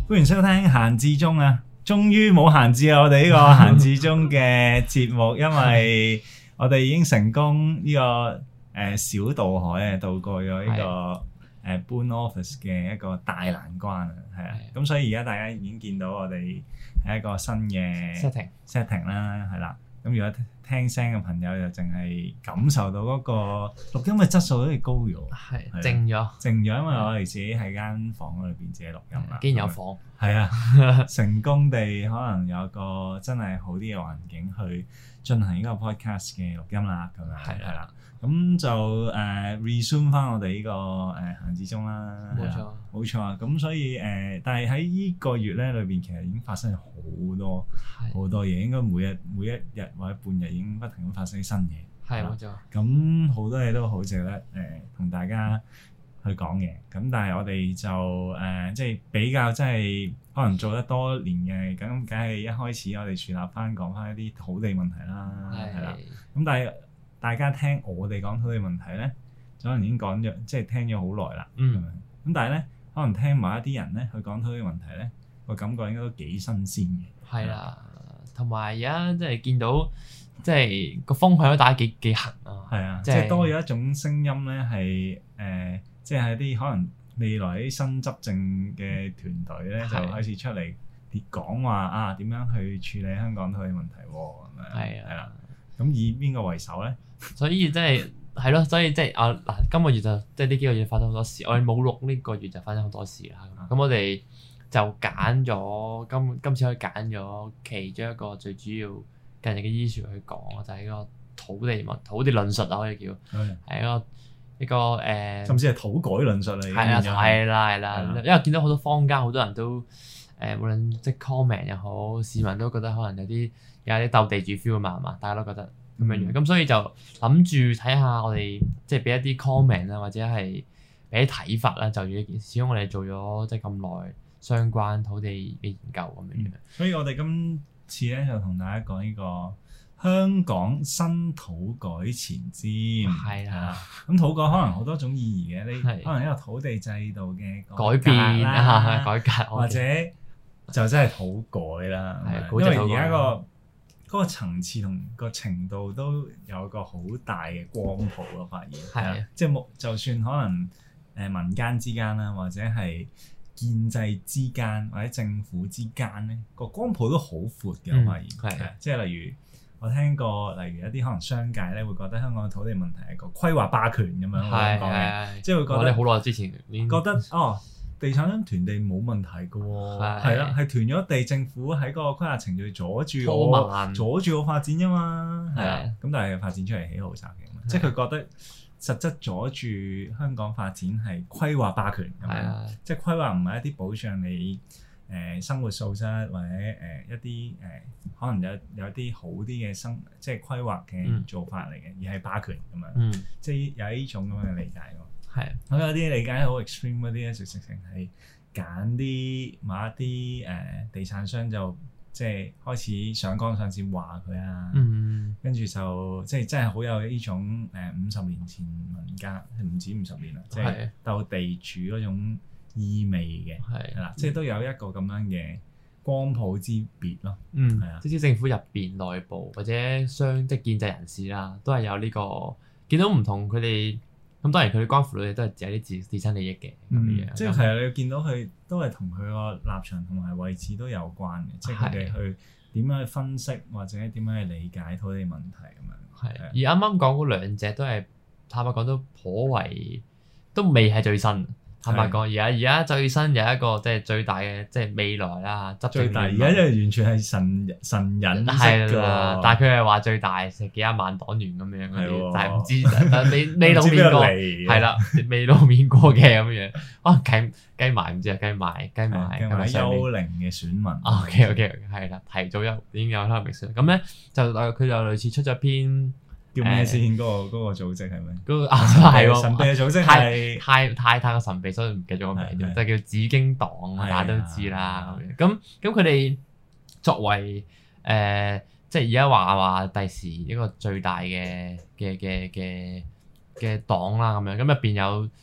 歡迎收聽閒置中啊！終於冇閒置啊！我哋呢個閒置中嘅節目，因為我哋已經成功呢個小渡海啊，渡過咗呢個搬 office 嘅一個大難關啊，係啊！咁所以而家大家已經見到我哋係一個新嘅 setting 啦，係啦。咁如果聽聲嘅朋友就淨係感受到嗰個錄音嘅質素好似高咗，係靜咗， 因為我哋自己喺間房裏邊自己錄音啦。 竟然有房， 係啊，成功地可能有個真係好啲嘅環境去進行呢個 podcast 嘅錄音啦，咁樣係啦。咁就resume 翻我哋呢個閒置中啦，冇錯啊。咁所以但係喺呢個月咧裏邊，其實已經發生咗好多嘢，應該每一日或者半日已經不停咁發生新嘢。係冇錯。咁好多嘢都好值得同大家去講嘅。咁但係我哋就即係比較真係可能做得多年嘅，咁梗係一開始我哋樹立翻講翻一啲土地問題啦，係啦。咁但係大家聽我哋講土地問題咧，可能已經講咗，即係聽咗好耐啦。咁但係咧，可能聽埋一啲人咧去講土地問題咧，個感覺應該都幾新鮮嘅。係啦， 同埋而家即係見到，即係個風向都打得幾行啊。係啊，即係多咗一種聲音咧，係即係啲可能未來啲新執政嘅團隊咧，就開始出嚟講話啊，點樣去處理香港土地問題喎咁樣。係啦，咁以邊個為首咧？ 所以即係咯，所以即係嗱，今個月就即係呢幾個月發生好多事，我哋冇錄呢個月就發生好多事啦。咁我哋就揀咗今次可以揀咗其中一個最主要近日嘅 issue 去講，就係呢個土地論述啊，可以叫係一個甚至係土改論述嚟嘅。 係啦，因為見到好多坊間好多人都無論即係 comment 又好，市民都覺得可能有啲鬥地主 feel 嘛，係嘛？大家都覺得咁樣樣，咁所以就諗住睇下我哋即係俾一啲 comment 啊，或者係俾啲睇法啦，就住呢件事。始終我哋做咗即係咁耐相關土地嘅研究咁樣樣。 所以我哋今次咧就同大家講呢個香港新土改前瞻。係啦，咁土改可能好多種意義嘅，你可能一個土地制度嘅改變啦，改革， 或者就真係土改啦。因為而家嗰個層次同個程度都有個好大嘅光譜咯，發現係啊，即係就算可能民間之間啦，或者係建制之間或者政府之間咧，個光譜都好闊嘅。我發現係即係例如我聽過，例如一啲可能商界咧會覺得香港嘅土地問題係個規劃霸權咁樣講嘅，即係會覺得好耐之前覺得地產商囤地冇問題嘅喎，係啦，係囤咗地，政府喺個規劃程序阻住我發展啫嘛，係啊，咁但係發展出嚟起豪宅嘅，即係佢覺得實質阻住香港發展係規劃霸權咁樣，即係規劃唔係一啲保障你生活素質或者一啲可能有啲好啲嘅即係規劃嘅做法嚟嘅，而係霸權咁樣，即係有呢種咁樣嘅理解喎。係，咁有啲理解好 extreme 嗰啲咧，直情係揀某一啲地產商就即係開始上綱上線話佢啊，跟住就即係真係好有呢種50年前民間唔止50年啦，即係鬥地主嗰種意味嘅，係啦，即係都有一個咁樣嘅光譜之別咯。係啊， 即係政府入邊內部或者即係建制人士啦，都係有呢個見到唔同佢哋。咁當然佢哋關乎到嘅都係自己自身利益嘅咁樣， 即係其實你見到佢都係同佢個立場同埋位置都有關嘅，即係佢哋去點樣去分析或者點樣去理解土地問題咁樣。係， 而啱啱講嗰兩隻都係坦白講都頗為都未係最新。坦白講，而家最新有一個即係最大嘅即係未來啦，執政最大而家就完全係神隱式㗎， 但係佢係話最大成幾廿萬黨員咁樣嗰啲，但係唔知但未露面過，係啦，未露面過嘅咁樣。計埋唔知啊，計埋幽靈嘅選民。OK，係啦，提早已經有幽靈選民。咁咧就佢就類似出咗篇。 叫咩先？嗰個組織係咪？ 嗰個係喎， 神秘嘅組織係太過神秘，所以唔記得咗個名，就叫紫荊黨，大家都知啦。咁佢哋作為即係而家話第時一個最大嘅黨啦，咁樣咁入邊有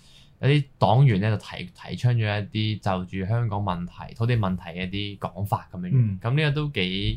有啲黨員咧就提倡咗一啲就住香港問題、土地問題嘅一啲講法咁樣樣。咁呢個都幾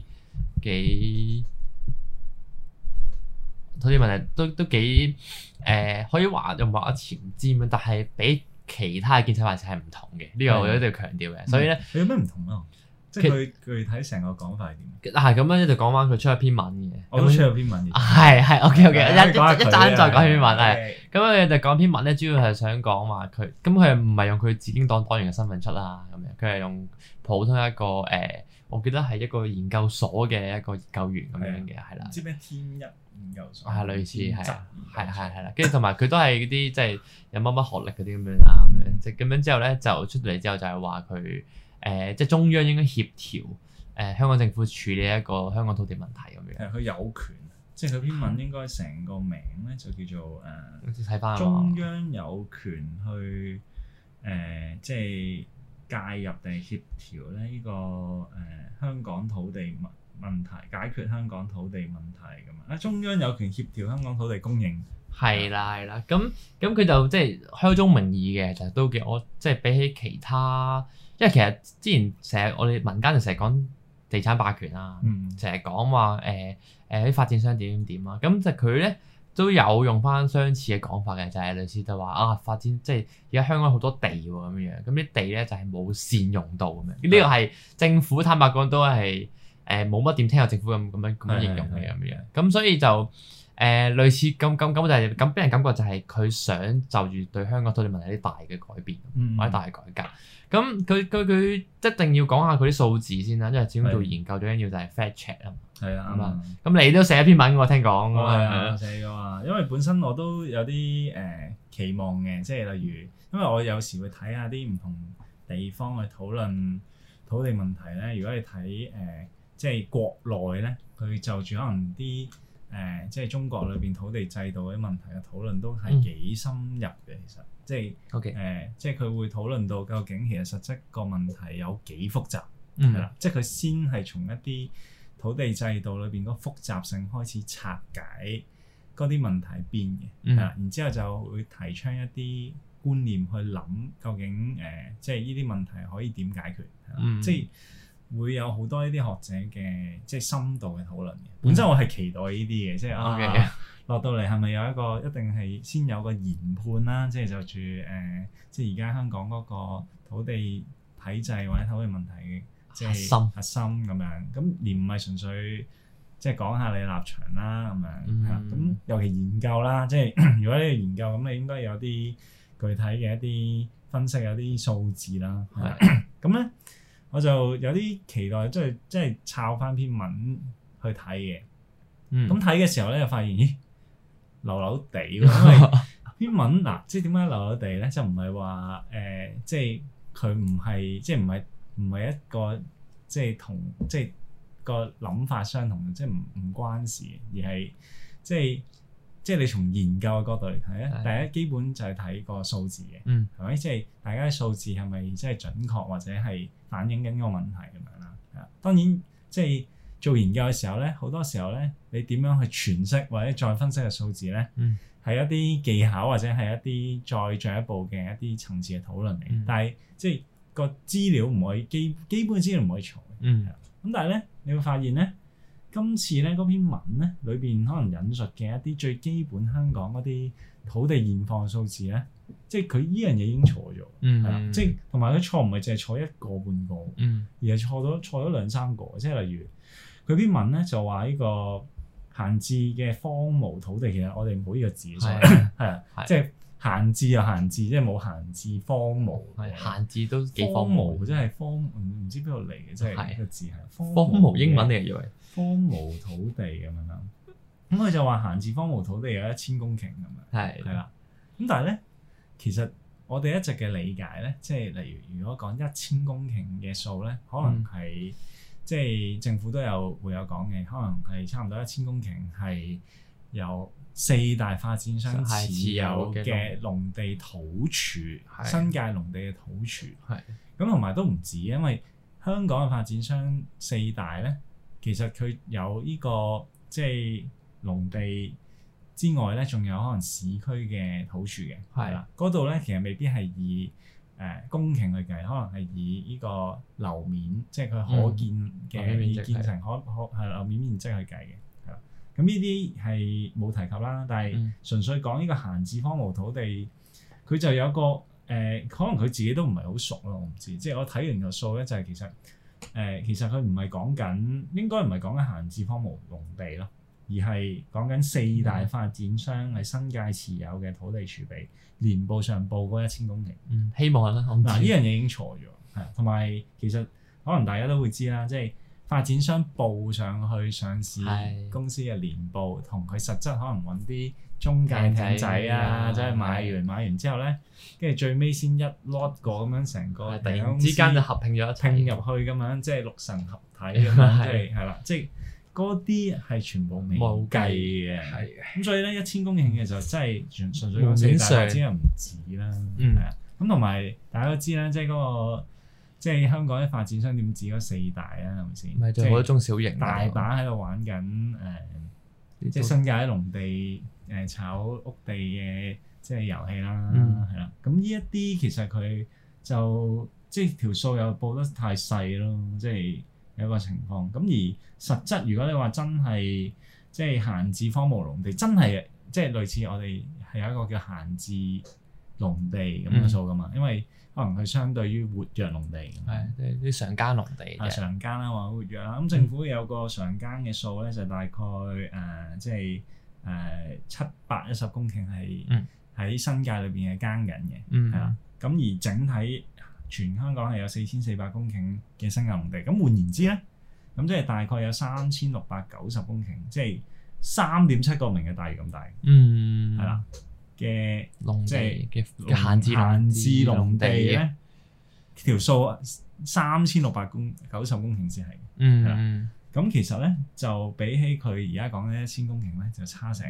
土地問題都幾可以話又唔話前瞻，但係比其他嘅建制派係唔同嘅。呢個我一定要強調嘅。所以咧， 有咩唔同啊？即係佢具體成個講法係點？ 係咁樣，一就講翻佢出咗篇文嘅。 我都出咗篇文嘅。 係 OK，一陣再講篇文係。咁佢就講篇文咧，主要係想講話佢，咁佢唔係用佢自經黨黨員嘅身份出啦，咁樣佢係用普通一個我記得係一個研究所嘅一個研究員咁樣嘅，係啦。 唔知咩天一研究所？ 係類似係啦，跟住同埋佢都係嗰啲即係有乜學歷嗰啲咁樣啦，咁樣即係咁樣之後咧就出嚟之後就係話佢。即係中央應該協調香港政府處理一個香港土地問題咁樣。係佢有權，即係佢篇文應該成個名咧就叫做睇返中央有權去即係介入定係協調咧呢個香港土地問題，解決香港土地問題咁啊！中央有權協調香港土地供應。係啦，咁佢就即係開宗明義嘅，就都幾我即係比起其他。因為其實之前成日我哋民間就成日講地產霸權啊，成日講話啲發展商點啊，咁就佢咧都有用翻相似嘅講法嘅，就係類似就話發展即係而家香港好多地喎咁樣，咁啲地咧就係冇善用到咁樣，呢個係政府坦白講都係冇乜點聽過政府咁樣形容嘅咁樣，咁所以就類似咁就係咁俾人感覺就係佢想就住對香港土地問題有啲大嘅改變或者大嘅改革。咁佢一定要講下佢啲數字先啦，因為始終做研究最緊要就係 fact check 啊嘛。係啊，咁你都寫一篇文喎，聽講。係啊，寫咗啊，因為本身我都有啲期望嘅，即係例如，因為我有時會睇下啲唔同地方去討論土地問題咧。如果你睇即係國內咧，佢就住可能啲即係中國裏邊土地制度嗰啲問題嘅討論都係幾深入嘅，其實。即係即係佢會討論到究竟其實實質個問題有幾複雜，係啦，即係佢先係從一啲土地制度裏邊嗰複雜性開始拆解嗰啲問題邊嘅，係啦，然之後就會提倡一啲觀念去諗究竟即係呢啲問題可以點解決，即係會有好多呢啲學者嘅即係深度嘅討論嘅。本身我係期待呢啲嘅，即係落到嚟係咪有一個一定係先有個研判啦？即係就住即係而家香港嗰個土地體制或者土地問題嘅即係核心咁樣。咁而唔係純粹即係講下你立場啦咁樣。係啦，咁尤其研究啦，即係如果你要研究咁，你應該有啲具體嘅一啲分析，有啲數字啦。係咁咧，我就有啲期待，即係抄翻篇文去睇嘅。咁睇嘅時候咧，就發現咦〜流流地喎，因為篇文嗱，即係點解流流地咧？就唔係話即係佢唔係，即係唔係一個即係同即係個諗法相同，即係唔關事，而係即係你從研究嘅角度嚟睇咧，第一基本就係睇個數字嘅，係咪？即係大家嘅數字係咪即係準確或者係反映緊個問題咁樣啦？係啊，當然即係。做研究嘅時候咧，好多時候咧，你點樣去詮釋或者再分析嘅數字咧，係一啲技巧或者係一啲再進一步嘅一啲層次嘅討論嚟。但係即係個資料唔可以基本資料唔可以錯嘅。咁但係咧，你會發現咧，今次咧嗰篇文咧裏邊可能引述嘅一啲最基本香港嗰啲土地現況數字咧，即係佢依樣嘢已經錯咗。係啦，即係同埋佢錯唔係淨係錯一個半個，而係錯咗兩三個。即係例如。佢篇文咧就話呢個閒置嘅荒蕪土地，其實我哋冇呢個字，所以係啊，即係閒置又閒置，即係冇閒置荒蕪。係閒置都幾荒蕪，即係荒唔知邊度嚟嘅，即係個字係荒蕪英文嚟嘅，以為荒蕪土地咁樣啦。咁佢就話閒置荒蕪土地有1000公頃咁樣，係啦。咁但係咧，其實我哋一直嘅理解咧，即係例如如果講1000公頃嘅數咧，可能係。即係政府會有講嘅，可能係差唔多1000公頃係由4大發展商持有嘅農地土儲，新界農地嘅土儲。係咁同埋都唔止，因為香港嘅發展商4大咧，其實佢有呢個即係農地之外咧，仲有可能市區嘅土儲嘅，係啦，嗰度咧其實未必係以公頃去計，可能係以呢個樓面，即係佢可見嘅以建成可係樓面面積去計嘅，係啦。咁呢啲係冇提及啦，但係純粹講呢個閒置荒蕪土地，佢就有個可能佢自己都唔係好熟咯，我唔知。即係我睇完個數咧，就係其實佢唔係講緊，應該唔係講緊閒置荒蕪農地咯。而係講緊4大發展商喺新界持有嘅土地儲備，年報上報嗰1000公頃。 希望啦。嗱， 呢樣嘢已經錯咗，係同埋其實可能大家都會知啦，即係發展商報上去上市公司嘅年報，同佢實質可能揾啲中介艇仔啊，即係買完之後咧，跟住最尾先一 lot 過咁樣成個突然之間就合併咗拼入去咁樣，即係六神合體咁樣，即係係啦，即係。嗰啲係全部未計嘅，咁所以咧1000公頃嘅就真係純粹講4大發展又唔止啦，係啊，咁同埋大家都知啦，即係嗰個即係香港啲發展商點止嗰4大啊，係咪先？ 唔係仲有好多中小型， 大把喺度玩緊即係新界啲農地炒屋地嘅即係遊戲啦，係啦，咁呢一啲其實佢就即係條數又報得太細咯，即係。有一個情況，咁而實質如果你話真係即係閒置荒蕪農地，真係即係類似我哋係有一個叫閒置農地咁嘅數噶嘛，因為可能佢相對於活躍農地， 係啲常耕農地嘅常耕啦或者活躍啦，咁政府有個常耕嘅數咧，就大概即係710公頃係喺新界裏邊係耕緊嘅，係啦，咁而整體。全香港係有4400公頃嘅新界農地，咁換言之咧，咁即係大概有3690公頃，即係3.7個明日大嶼咁大，係啦嘅農地嘅閒置農地咧，條數3690公頃先係，係啦。咁其實咧就比起佢而家講嘅1000公頃咧，就差成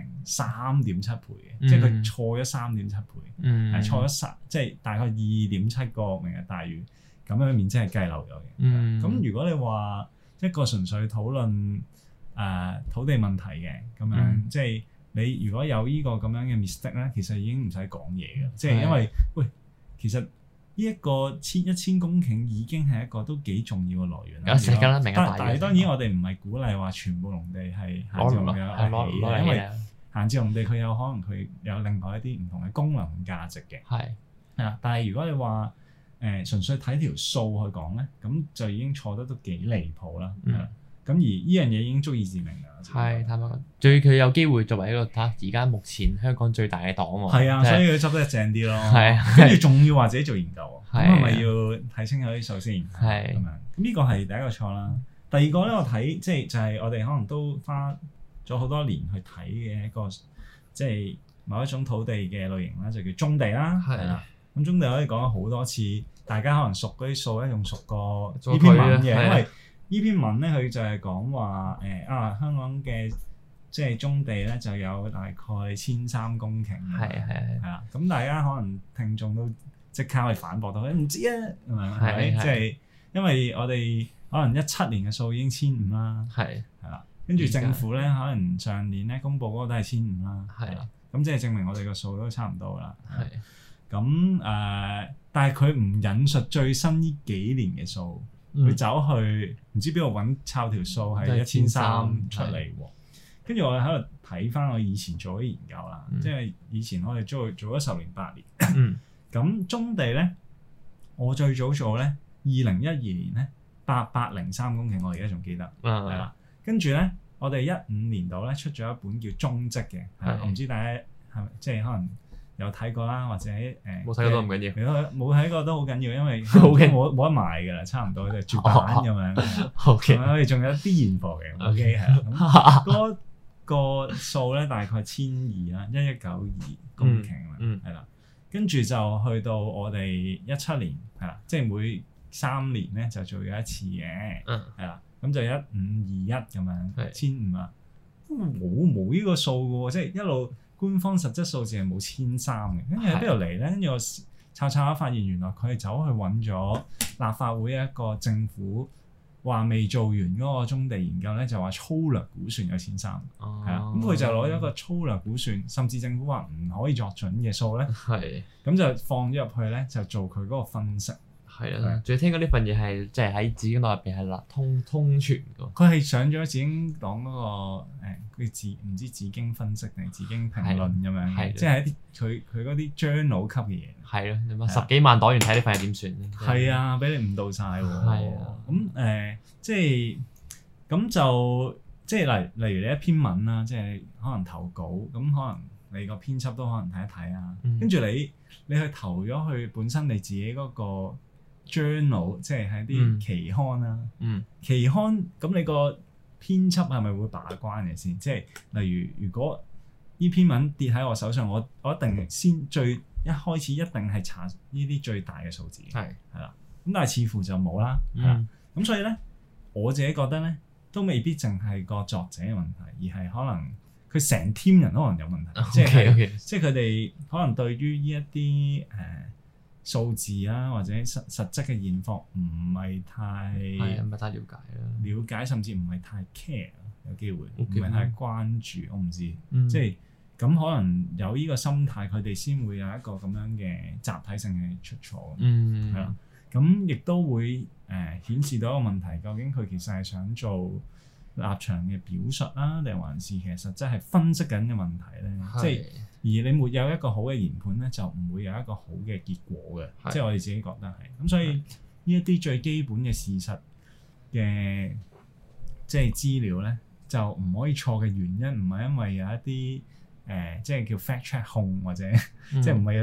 3.7倍嘅，即係佢錯咗3.7倍，係錯咗即係大概2.7個明日大嶼咁樣面積係計漏咗嘅。咁如果你話一個純粹討論土地問題嘅咁樣，即係你如果有呢個咁樣嘅 mistake 咧，其實已經唔使講嘢嘅，即係因為喂，其實。呢一個1000公頃已經係一個都幾重要嘅來源啦。有時間啦，明日大嶼。但係當然我哋唔係鼓勵話全部農地係閒置農地嘅，因為閒置農地佢有可能佢有另外一啲唔同嘅功能價值嘅。係啊，但係如果你話純粹睇條數去講咧，咁就已經錯得都幾離譜啦。咁而呢樣嘢已經足以致命㗎。 係，坦白講，最佢有機會作為一個而家目前香港最大嘅黨喎。 係啊，所以佢執得正啲咯。係啊，跟住仲要話自己做研究，咁係咪要睇清楚啲數先？係咁樣。咁呢個係第一個錯啦。第二個咧，我睇即係就係我哋可能都花咗好多年去睇嘅一個，即係某一種土地嘅類型啦，就叫棕地啦。係啦。咁棕地可以講咗好多次，大家可能熟嗰啲數咧，仲熟過呢篇文嘅，因為。呢篇文咧，佢就係講話香港嘅即係棕地咧，就有大概1300公頃。係啦，咁大家可能聽眾都即刻去反駁到，唔知啊，係咪？即係因為我哋可能17年嘅數已經1500啦。係啦，跟住政府咧，可能上年咧公佈嗰個都係1500啦。係啦，咁即係證明我哋個數都差唔多啦。係咁但係佢唔引述最新呢幾年嘅數。佢走去唔知邊度揾抄條數係1300出嚟喎，跟住我喺度睇翻我以前做啲研究啦，即係以前我哋做咗10年8年，咁棕地咧，我最早做咧2012年咧803公頃，我而家仲記得，係啦，跟住咧我哋15年度咧出咗一本叫蹤跡嘅，我唔知大家係咪即係可能。有睇過啦，或者冇睇過都唔緊要。 冇睇過都好緊要，因為冇得賣㗎啦，差唔多就絕版咁樣。OK，我哋仲有啲現貨嘅。OK，係啦。嗰個數咧大概1200啦，1192公頃啦，係啦。跟住就去到我哋17年，係啦，即係每3年咧就做咗一次嘅，係啦。咁就1521咁樣，1500啦。冇呢個數嘅喎，即係一路。官方實質數字係冇1300嘅，跟住喺邊度嚟咧？跟住我查下發現，原來佢係走去揾咗立法會一個政府話未做完嗰個棕地研究咧，就話粗略估算有錢收，係啊，咁佢就攞咗個粗略估算，甚至政府話唔可以作準嘅數咧，係，咁就放咗入去咧，就做佢嗰個分析。 係啊，仲要聽講呢份嘢係即係喺紫荊黨入邊係通傳㗎。 佢係上咗紫荊黨嗰個佢唔知紫荊分析定係紫荊評論咁樣，即係一啲佢嗰啲 journal 級嘅嘢。係咯，你10幾萬黨員睇呢份係點算？係啊，俾你誤導晒喎。係啊，咁即係咁就即係例如你一篇文啦，即係可能投稿，咁可能你個編輯都可能睇一睇啊，跟住你去投咗去本身你自己嗰個 journal 即係喺啲期刊啦，期刊咁你個編輯係咪會把關嘅先？即係例如如果呢篇文跌喺我手上，我一定先一開始一定係查呢啲最大嘅數字，係啦。咁但係似乎就冇啦，係啦。咁所以咧，我自己覺得咧，都未必淨係個作者嘅問題，而係可能佢成 team 人可能有問題，即係佢哋可能對於呢一啲數字啊，或者實質嘅現況唔係太了解啦，了解甚至唔係太 care， 有機會唔係太關注，我唔知，即係咁可能有呢個心態，佢哋先會有一個咁樣嘅集體性嘅出錯，係啦，咁亦都會顯示到一個問題，究竟佢其實係想做立場嘅表述啦，定還是其實實質係分析緊嘅問題咧？即係而你沒有一個好嘅研判咧，就唔會有一個好嘅結果嘅。即係我哋自己覺得係咁，所以呢一啲最基本嘅事實嘅即係資料咧，就唔可以錯嘅原因，唔係因為有一啲即係叫 fact check 控或者即係唔係要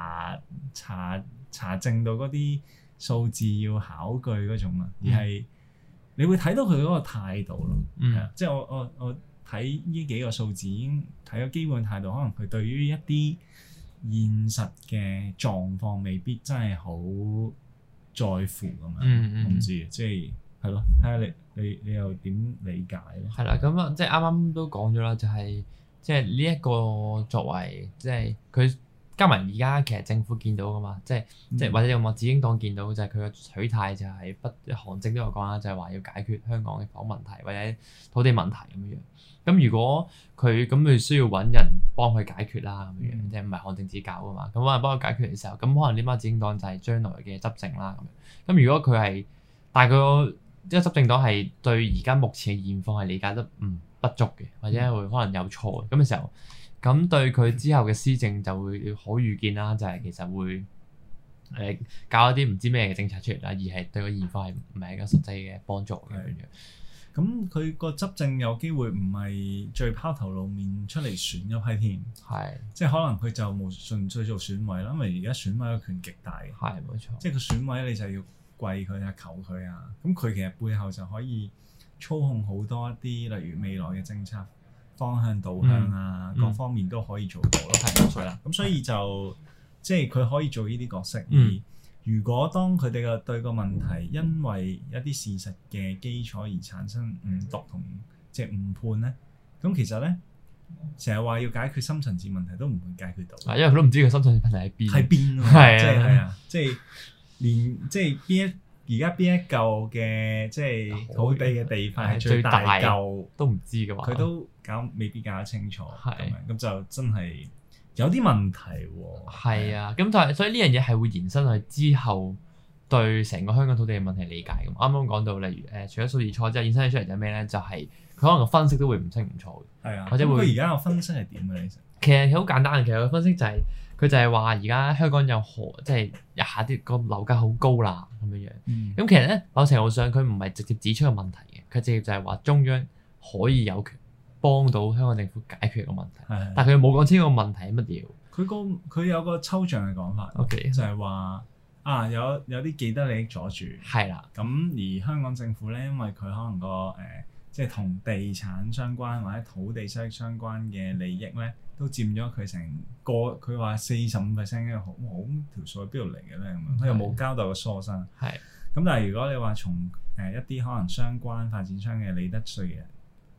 查證到嗰啲數字要考據嗰種啊，而係你會睇到佢嗰個態度咯。即係我睇呢幾個數字已經睇咗基本態度，可能佢對於一啲現實嘅狀況未必真係好在乎咁樣。我唔知，即係咯，睇下你又點理解咧？係啦，咁啊，即係啱啱都講咗啦，就係即係呢一個作為即係佢加埋而家其實政府見到噶嘛，即係或者用我紫荊黨見到就係佢嘅取態就係韓正都有講啦，就係話要解決香港嘅房問題或者土地問題咁樣。咁如果佢需要揾人幫佢解決啦咁樣，即係唔係韓正自己搞噶嘛？咁揾人幫佢解決嘅時候，咁可能呢班紫荊黨就係將來嘅執政啦咁樣。咁如果佢係，但係佢即係執政黨係對而家目前嘅現況係理解得不足嘅，或者會可能有錯咁嘅時候，咁對佢之後嘅施政就會可預見啦，就係其實會搞一啲唔知咩嘅政策出嚟啦，而係對個現況係唔係一個實際嘅幫助嘅樣。咁佢個執政有機會唔係最拋頭露面出嚟選一批添，即係可能佢就冇純粹做選委啦，因為而家選委嘅權極大嘅，冇錯，即係個選委你就要跪佢啊、求佢啊，咁佢其實背後就可以操控好多一啲，例如未來嘅政策方向導向啊，各方面都可以做到咯，係啦，咁所以就即係佢可以做呢啲角色。如果當佢哋嘅對個問題因為一啲事實嘅基礎而產生誤讀同即係誤判咧，咁其實咧成日話要解決深層次問題都唔會解決到，因為佢都唔知佢深層次問題喺邊，喺邊啊嘛，係啊，即係連即係而家邊一嚿嘅即係土地嘅地塊係最大嚿都唔知嘅話，佢都未必搞得清楚，咁就真係有啲問題喎。係啊，咁但係所以呢樣嘢係會延伸去之後對成個香港土地嘅問題理解咁。啱啱講到例如除咗數字錯之後，延伸出嚟就係咩咧？就係佢可能個分析都會唔清唔楚嘅。係啊，或者會。佢而家個分析係點嘅？其實好簡單嘅，其實個分析就係佢就係話而家香港即係下啲個樓價好高啦咁樣樣。咁其實咧某程度上佢唔係直接指出個問題嘅，佢直接就係話中央可以有權幫到香港政府解決個問題，但係佢冇講清楚個問題係乜嘢。佢有個抽象嘅講法，就係話有啲既得利益阻住，係啦。咁而香港政府咧，因為佢可能即係同地產相關或者土地收益相關嘅利益咧，都佔咗佢成個佢話45%嘅好條數喺邊度嚟嘅咧咁樣，佢又冇交代個 source。係咁，但係如果你話從一啲可能相關發展商嘅利得稅嘅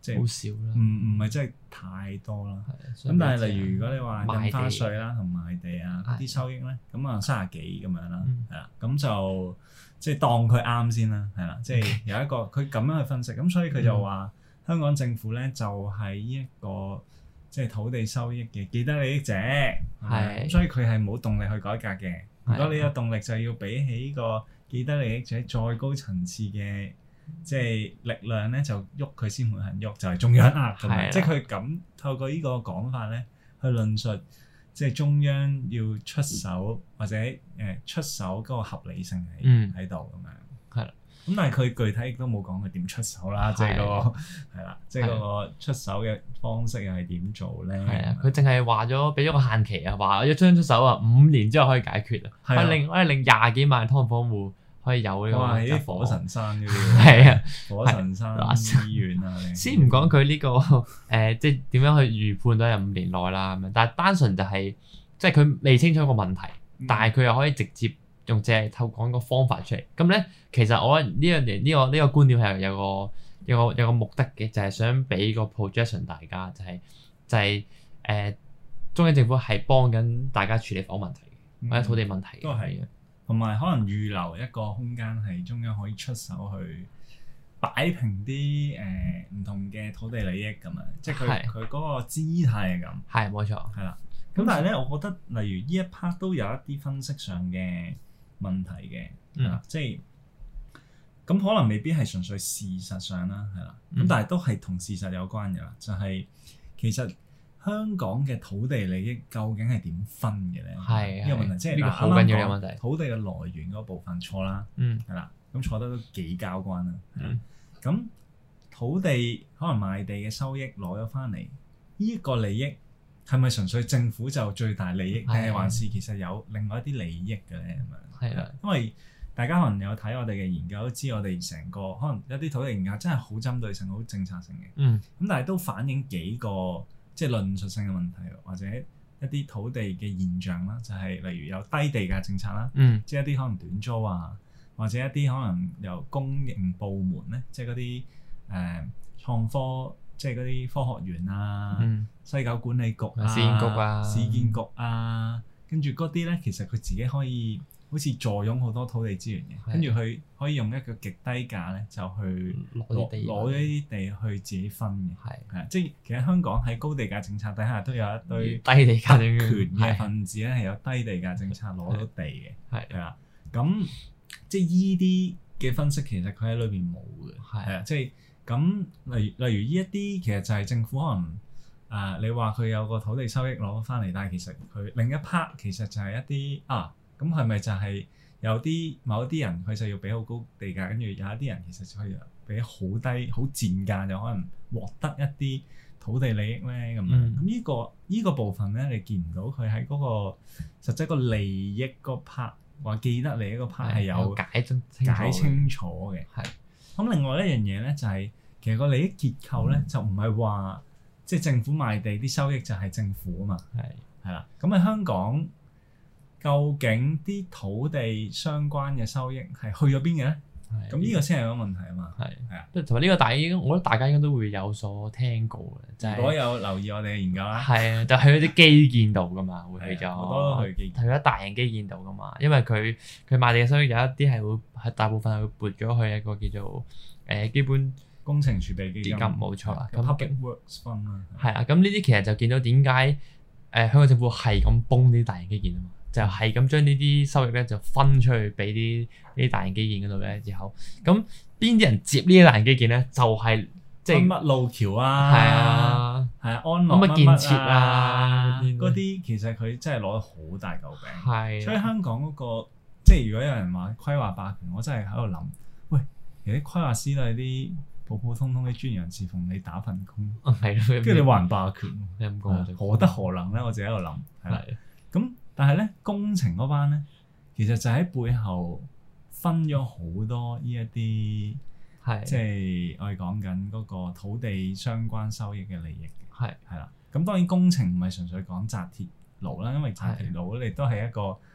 即係好少啦， 唔係真係太多啦。咁但係例如如果你話印花稅啦同賣地啊嗰啲收益咧，咁啊30幾咁樣啦，係啦，咁就即係當佢啱先啦，係啦，即係有一個佢咁樣去分析，咁所以佢就話香港政府咧就係呢一個即係土地收益嘅既得利益者，係，咁所以佢係冇動力去改革嘅。如果你有動力，就要比起個既得利益者再高層次嘅即係力量咧，就喐佢先會肯喐，就係中央壓咁樣。即係佢咁透過呢個講法咧，去論述即係中央要出手或者出手嗰個合理性喺度咁樣。係啦。咁但係佢具體亦都冇講佢點出手啦，即係嗰個係啦，即係嗰個出手嘅方式又係點做咧？係啊， 佢淨係話咗俾咗個限期啊，話一將出手啊5年之後可以解決啊，我哋令20幾萬劏房戶可以有呢個。 哇！啲火神山嗰啲係啊，火神山醫院啊， 先唔講佢呢個即係點樣去預判到係5年內啦咁樣，但係單純就係即係佢未清楚個問題，但係佢又可以直接用淨係透過個方法出嚟。咁咧，其實我覺得呢樣嘢呢個觀點係有個目的嘅，就係想俾個 projection 大家，就係中央政府係幫緊大家處理房問題或者土地問題都係嘅，同埋可能預留一個空間係中央可以出手去擺平啲唔同嘅土地利益咁樣，即係佢嗰個姿態係咁。係冇錯，係啦。咁但係咧，我覺得例如呢一 part 都有一啲分析上嘅問題嘅，即係咁可能未必係純粹事實上啦，係啦，咁但係都係同事實有關嘅啦，就係其實香港嘅土地利益究竟係點分嘅咧？係呢個問題，即係好緊要嘅問題。土地嘅來源嗰部分錯啦，係啦，咁錯得都幾交關啦。咁土地可能賣地嘅收益攞咗翻嚟，呢一個利益係咪純粹政府就最大利益，定係還是其實有另外一啲利益嘅咧？咁樣係啦，因為大家可能有睇我哋嘅研究，都知我哋成個可能一啲土地研究真係好針對性、好政策性嘅。咁但係都反映幾個即係論述性嘅問題，或者一啲土地嘅現象啦，就係例如有低地價政策啦，即係一啲可能短租啊，或者一啲可能由公營部門咧，即係嗰啲創科，即係嗰啲科學園啊、西九管理局啊、市建局啊，跟住嗰啲咧，其實佢自己可以好似坐擁好多土地資源嘅，跟住佢可以用一個極低價咧，就去攞咗呢啲地去自己分嘅。係啊，即係其實香港喺高地價政策底下都有一堆低地價權嘅分子咧，係有低地價政策攞到地嘅。係啊，咁即係依啲嘅分析其實佢喺裏邊冇嘅。係啊，即係咁例如依一啲其實就係政府可能你話佢有個土地收益攞翻嚟，但係其實佢另一 part 其實就係一啲咁係咪就係有某啲人佢就要俾好高地價，跟住有一啲人其實就可以俾好低好賤價，就可能獲得一啲土地利益咧咁樣。咁呢個部分咧，你見唔到佢喺嗰個實質個利益嗰 part 話既得利益嗰 part 係有解清楚嘅。係。咁另外一樣嘢咧就係其實個利益結構咧就唔係話即係政府賣地啲收益就係政府啊嘛。係啦。咁喺香港，究竟啲土地相關嘅收益係去咗邊嘅咧？咁呢個先係個問題啊嘛。係啊，同埋呢個我覺得大家應該都會有所聽過嘅，就係如果有留意我哋嘅研究啦，係啊，就去咗啲基建度噶嘛，會去咗好多都去咗大型基建度噶嘛，因為佢賣地嘅收益有一啲係大部分係會撥咗去一個叫做基本工程儲備基金，冇錯啦。咁 Public Works Fund 啦，係啊，咁呢啲其實就見到點解香港政府係咁崩啲大型基建啊嘛。就係咁將呢啲收益咧就分出去俾啲大型基建嗰度咧，之後咁邊啲人接呢啲大型基建咧？就係即係乜路橋啊，係啊，安樂乜建設啊，嗰啲其實佢真係攞咗好大嚿餅。係，所以香港嗰個即係如果有人話規劃霸權，我真係喺度諗，喂，其實啲規劃師都係啲普普通通啲專業人士，奉你打份工，係咯，跟住你話人霸權，何德何能咧？我自己喺度諗，係咁。但係咧，工程嗰班咧，其實就喺背後分咗好多呢一啲，即係我哋講緊嗰個土地相關收益嘅利益。係啦，咁當然工程唔係純粹講紮鐵路啦，因為紮鐵路你都係一個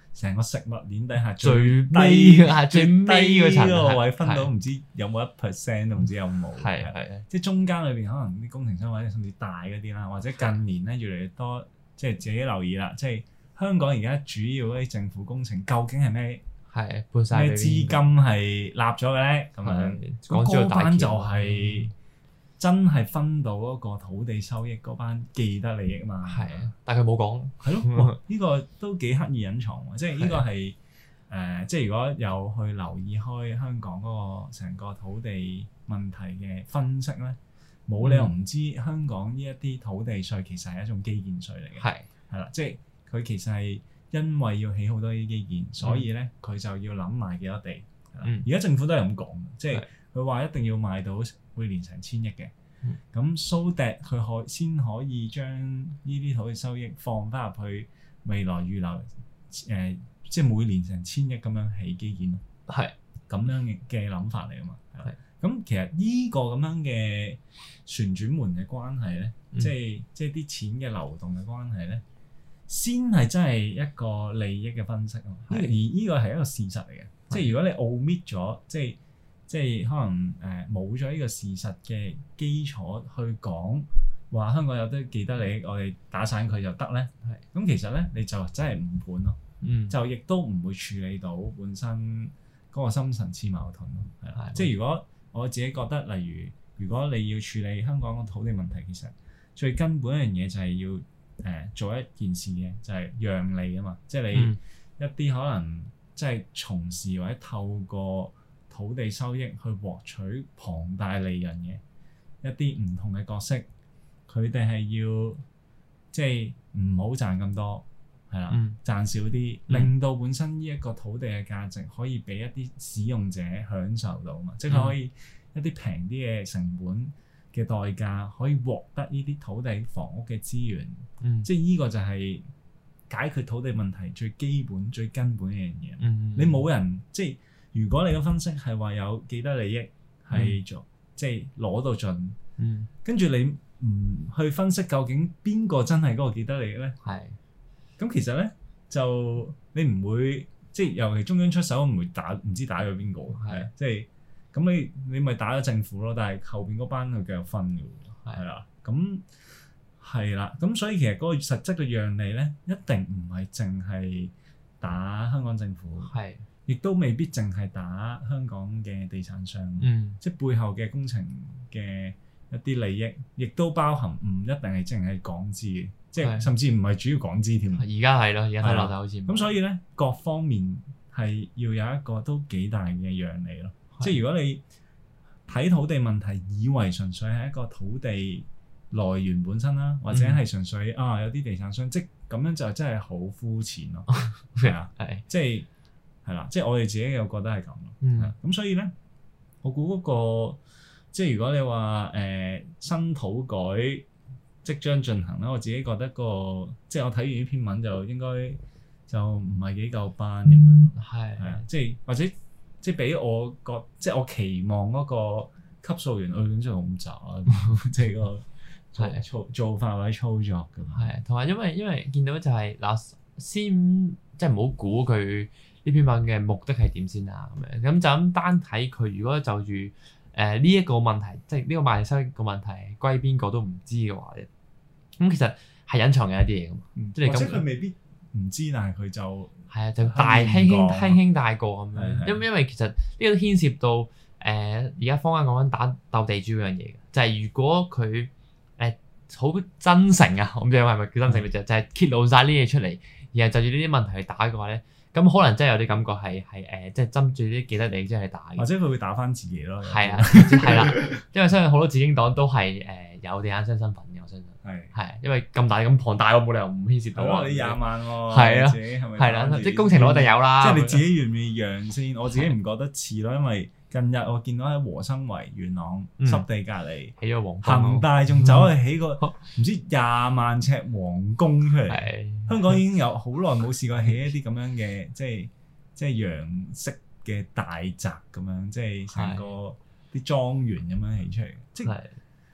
成個食物鏈底下最低嗰層個位分到唔知有冇1%都唔知有冇。 係即係中間裏邊可能啲工程商或者甚至大嗰啲啦，或者近年咧越嚟越多，即係自己留意啦。即係香港而家主要嗰啲政府工程究竟係咩？ 係搬曬咩資金係立咗嘅咧？咁樣嗰班就係真係分到嗰個土地收益嗰班既得利益嘛。 係啊，但係佢冇講。 係咯，呢個都幾刻意隱藏喎。即係呢個係即係如果有去留意開香港嗰個成個土地問題嘅分析咧，冇理由唔知香港呢一啲土地稅其實係一種基建稅嚟嘅。係啦，即係佢其實係因為要起好多啲基建，所以咧佢就要諗賣幾多地。而家政府都係咁講，即係佢話一定要賣到每年成1000億嘅。咁 so that 佢先可以將呢啲土地收益放翻入去未來預留即係每年成1000億咁樣起基建咯。係咁樣嘅諗法嚟啊嘛。咁其實呢個咁樣嘅旋轉門嘅關係咧，即係啲錢嘅流動嘅關係咧，先係真係一個利益嘅分析咯。而呢個係一個事實嚟嘅，即係如果你 omit 咗，即係可能冇咗呢個事實嘅基礎去講話香港有啲既得利益，我哋打散佢就得咧。咁其實咧你就真係誤判咯。就亦都唔會處理到本身嗰個深層次矛盾咯。係啦，即係如果我自己覺得，例如如果你要處理香港個土地問題，其實最根本一樣嘢就係要做一件事嘅，就係讓利啊嘛。即係你一啲可能即係從事或者透過土地收益去獲取龐大利潤嘅一啲唔同嘅角色，佢哋係要即係唔好賺咁多，係啦，賺少啲，令到本身呢一個土地嘅價值可以俾一啲使用者享受到嘛，即係可以一啲平啲嘅成本嘅代價可以獲得呢啲土地房屋嘅資源，即係呢個就係解決土地問題最基本最根本嘅一樣嘢。你冇人即係如果你嘅分析係話有既得利益係做即係攞到盡，跟住你唔去分析究竟邊個真係嗰個既得利益咧？咁其實咧就你唔會即係尤其中央出手唔會打唔知打咗邊個，即係咁你咪打咗政府咯，但係後邊嗰班佢繼續分嘅喎，係啦，咁係啦，咁所以其實嗰個實質嘅讓利咧一定唔係淨係打香港政府，亦都未必淨係打香港嘅地產商，即係背後嘅工程嘅一啲利益，亦都包含唔一定係淨係港資嘅。即係甚至唔係主要港資添。而家係咯，而家睇落就好似。咁所以咧，各方面係要有一個都幾大嘅讓利咯。即係如果你睇土地問題，以為純粹係一個土地來源本身啦，或者係純粹有啲地產商，即咁樣就真係好膚淺咯。係啊，即係係啦，即係我哋自己又覺得係咁咯。咁所以咧，我估嗰個即係如果你話新土改即將進行啦，我自己覺得即係我睇完呢篇文就應該就唔係幾夠班咁樣咯。係啊，即係或者即係俾我即係我期望嗰個級數員去真係咁渣，即係個做法或者操作咁。係，同埋因為見到就係嗱，先即係唔好估佢呢篇文嘅目的係點先啊咁樣。咁就咁單睇佢，如果就住呢一個問題，即係呢個賣地收益個問題歸邊個都唔知嘅話咧，咁其實係隱藏嘅一啲嘢㗎嘛。即係或者佢未必唔知，但係佢就係啊，就輕輕帶過咁樣。因為其實呢個都牽涉到而家坊間講緊打鬥地主嗰樣嘢嘅，就係如果佢好真誠啊，我唔知係咪叫真誠嘅就係揭露晒呢啲嘢出嚟，然後就住呢啲問題去打嘅話咧。咁可能真係有啲感覺係即係針住啲既得利益即係打嘅，或者佢會打翻自己咯。係啊，係啦，因為相信好多紫荊黨都係有地產商身份嘅，我相信係因為咁大咁龐大，我冇理由唔牽涉到啊！你20萬喎，係啊，係啦，即係工程攞定有啦。即係你自己願唔願意讓先？我自己唔覺得似咯，因為近日我見到喺和生圍元朗濕地隔離起咗恒大仲走去起個唔知20萬尺皇宮出嚟。香港已經有好耐冇試過起一啲咁樣嘅，即係洋式嘅大宅咁樣，即係成個啲莊園咁樣起出嚟。即係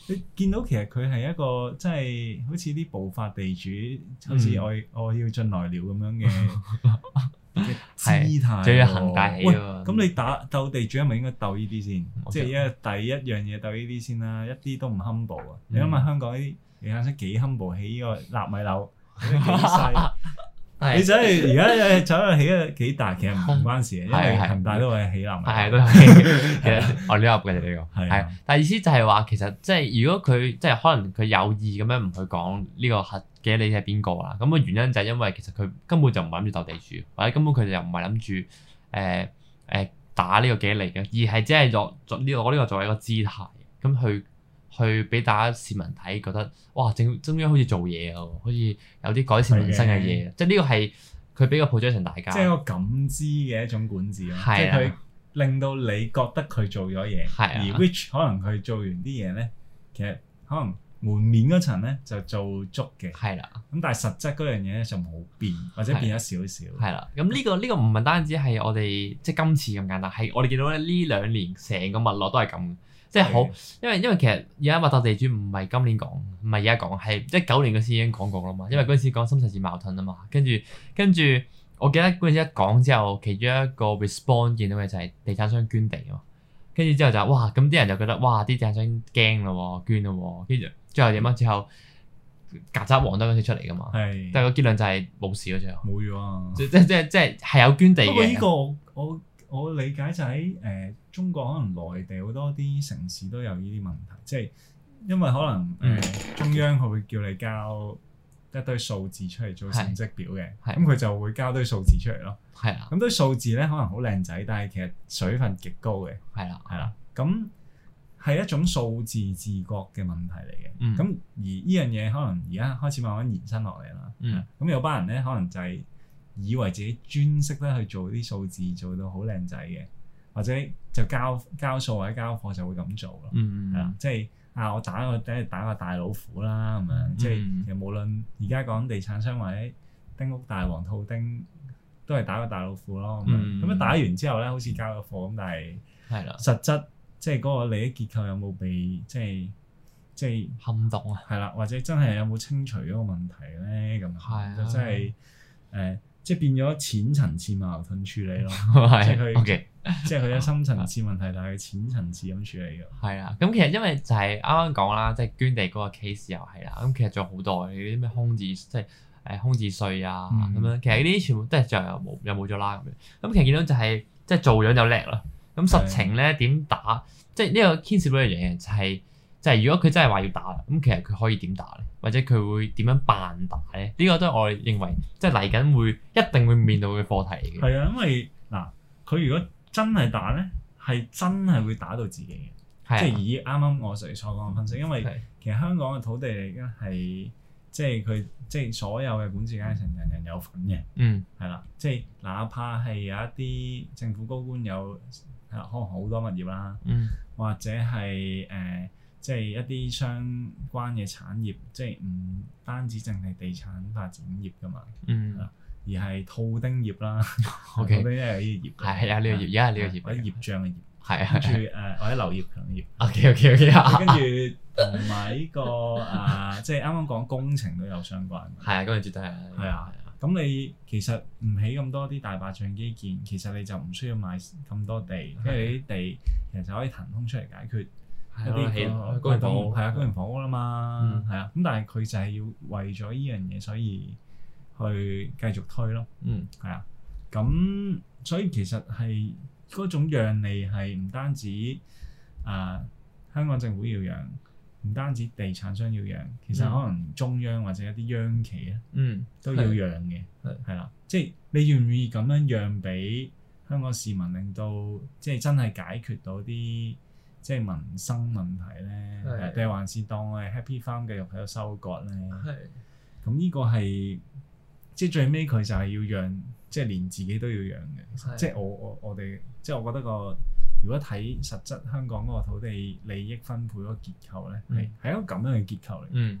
你見到其實佢係一個即係好似啲暴發地主，好似我要進來了咁樣嘅姿態， 仲要行大起喎。 咁你鬥地主係咪應該鬥呢啲先？即係第一樣嘢鬥呢啲先啦，一啲都唔 humble 啊！你諗下香港啲地產商幾 humble， 起呢個納米樓幾細。你真係而家走去起得幾大，其實唔關事嘅，因為恒大都係起納米。 係都係，其實我呢個嘅呢個係。但係意思就係話，其實即係如果佢即係可能佢有意咁樣唔去講呢個核嘅你係邊個啦，咁個原因就係因為其實佢根本就唔係諗住鬥地主，或者根本佢哋又唔係諗住打呢個幾利嘅，而係只係攞呢個作為一個姿態咁去俾大家市民睇，覺得哇，中央好似做嘢啊，好似有啲改善民生嘅嘢，即係呢個係佢俾個 projection 大家， 即係一個感知嘅一種管治咯，即係佢令到你覺得佢做咗嘢，而 which 可能佢做完啲嘢咧，其實可能門面嗰層咧就做足嘅，係啦。咁但係實質嗰樣嘢咧就冇變，或者變咗少少。係啦。咁呢個唔係單止係我哋即係今次咁簡單，係我哋見到咧呢2年成個脈絡都係咁。即係好，因為其實而家話鬥地主唔係今年講，唔係而家講，係19年嗰時已經講過啦嘛。因為嗰陣時講深層次矛盾啊嘛，跟住我記得嗰陣時一講之後，其中一個 response 見到嘅就係地產商捐地啊嘛。跟住之後就哇，咁啲人就覺得哇，啲地產商驚咯，捐咯，跟住最後點啊？之後曱甴王都嗰時出嚟噶嘛。係。但係個結論就係冇事咯，最後。冇咗啊！即係有捐地嘅。不過呢個我理解就喺中國可能內地好多啲城市都有呢啲問題，即係因為可能中央佢會叫你交一堆數字出嚟做成績表嘅，咁佢就會交堆數字出嚟咯。係啦，咁堆數字咧可能好靚仔，但係其實水分極高嘅。係啦，咁係一種數字自覺嘅問題嚟嘅。咁而呢樣嘢可能而家開始慢慢延伸落嚟啦。咁有班人咧可能就係以為自己專識咧去做啲數字做到好靚仔嘅，或者就交數或者交貨就會咁做咯。係啦，即係我打個大老虎啦咁樣，即係其實無論而家講地產商或者丁屋大王套丁，都係打個大老虎咯。咁樣打完之後咧，好似交咗貨咁，但係實質即係嗰個利益結構有冇被即係撼動啊？係啦，或者真係有冇清除嗰個問題咧？咁就真係即係變咗淺層次矛盾處理咯，即係佢有深層次問題，但係淺層次咁處理嘅。係啊，咁其實因為就係啱啱講啦，即係捐地嗰個 case 又係啦，咁其實仲有好多啲咩空置，即係空置稅啊咁樣，其實呢啲全部都係最後又冇咗啦咁樣。咁其實見到就係即係做樣就叻啦，咁實情咧點打？即係呢個牽涉到一樣嘢就係如果佢真係話要打啦，咁其實佢可以點打咧？或者佢會點樣扮打咧？呢個都係我哋認為即係嚟緊一定會面對嘅課題嚟嘅。係啊，因為嗱，佢如果真係打咧，係真係會打到自己嘅。即係以啱啱我哋所講嘅分析，因為其實香港嘅土地嚟緊係即係佢即係所有嘅管治階層人人有份嘅。係啦，即係哪怕係有一啲政府高官有可能好多物業啦，或者係即係一啲相關嘅產業，即係唔單止淨係地產發展業噶嘛，而係套丁業啦。套丁因為有呢個業，係啊，呢個業，而家係呢個業，或者業障嘅業，係啊，跟住或者劉業強嘅業。OK，跟住同埋呢個即係啱啱講工程都有相關。係啊，嗰樣絕對係。係啊，咁你其實唔起咁多啲大白象基建，其實你就唔需要買咁多地，因為啲地其實就可以騰空出嚟解決。一啲起公營房屋係啊，公營房屋啦嘛，係啊，咁但係佢就係要為咗依樣嘢，所以去繼續推咯，係啊，咁所以其實係嗰種讓利係唔單止香港政府要讓，唔單止地產商要讓，其實可能中央或者一啲央企咧，都要讓嘅，係啦，即係你願唔願意咁樣讓俾香港市民，令到即係真係解決到啲即係民生問題咧，定係還是當我係 Happy Farm 繼續喺度收割咧？咁呢個係即係最尾佢就係要讓，即係連自己都要讓嘅。即係我哋即係我覺得如果睇實質香港嗰個土地利益分配嗰個結構咧，係一個咁樣嘅結構嚟。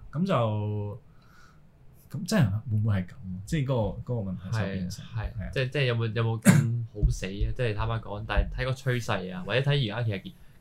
咁真係會唔會係咁？即係嗰個問題就變成係即係有冇咁好死啊？即係坦白講，但係睇個趨勢啊，或者睇而家其實